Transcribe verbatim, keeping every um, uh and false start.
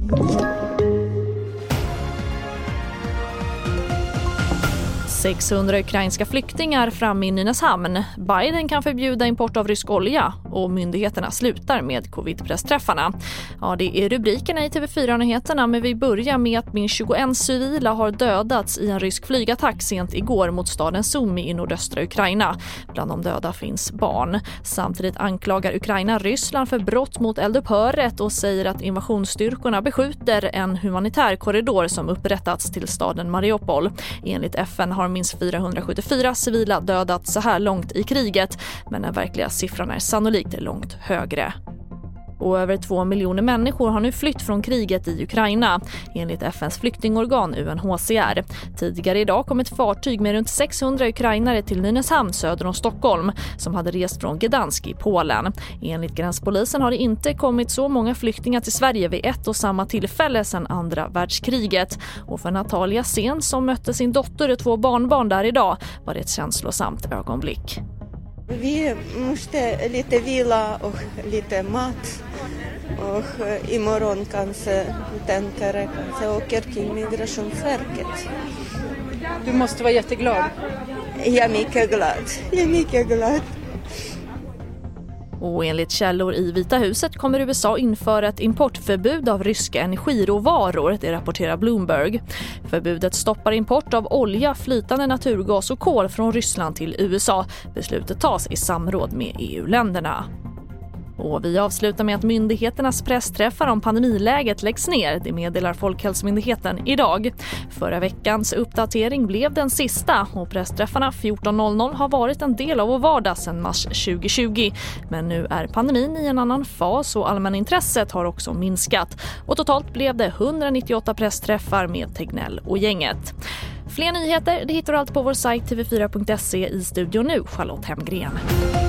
sexhundra ukrainska flyktingar fram i Nynäshamn. Biden kan förbjuda import av rysk olja och myndigheterna slutar med covid-pressträffarna. Ja, det är rubrikerna i T V fyra-nyheterna, men vi börjar med att minst tjugoett civila har dödats i en rysk flygattack sent igår mot staden Sumy i nordöstra Ukraina. Bland de döda finns barn. Samtidigt anklagar Ukraina Ryssland för brott mot eldupphöret och säger att invasionsstyrkorna beskjuter en humanitär korridor som upprättats till staden Mariupol. Enligt F N har minst fyrahundrasjuttiofyra civila dödats så här långt i kriget, men den verkliga siffran är sannolikt långt högre. Och över två miljoner människor har nu flytt från kriget i Ukraina, enligt F N:s flyktingorgan U N H C R. Tidigare idag kom ett fartyg med runt sexhundra ukrainare till Nynäshamn söder om Stockholm, som hade rest från Gdansk i Polen. Enligt gränspolisen har det inte kommit så många flyktingar till Sverige vid ett och samma tillfälle sedan andra världskriget. Och för Natalia Sen, som mötte sin dotter och två barnbarn där idag, var det ett känslosamt ögonblick. Vi måste lite vila och lite mat och imorgon kanske tänker kanske åker till Migrationsverket. Du måste vara jätteglad. Jag är mycket glad. Jag är mycket glad. Och enligt källor i Vita huset kommer U S A införa ett importförbud av ryska energiråvaror, det rapporterar Bloomberg. Förbudet stoppar import av olja, flytande naturgas och kol från Ryssland till U S A. Beslutet tas i samråd med E U-länderna. Och vi avslutar med att myndigheternas pressträffar om pandemiläget läggs ner. Det meddelar Folkhälsomyndigheten idag. Förra veckans uppdatering blev den sista och pressträffarna fjorton noll noll har varit en del av vår vardag sedan mars tjugohundratjugo. Men nu är pandemin i en annan fas och allmänintresset har också minskat. Och totalt blev det hundranittioåtta pressträffar med Tegnell och gänget. Fler nyheter det hittar du allt på vår sajt t v fyra punkt se. I studion nu Charlotte Hemgren.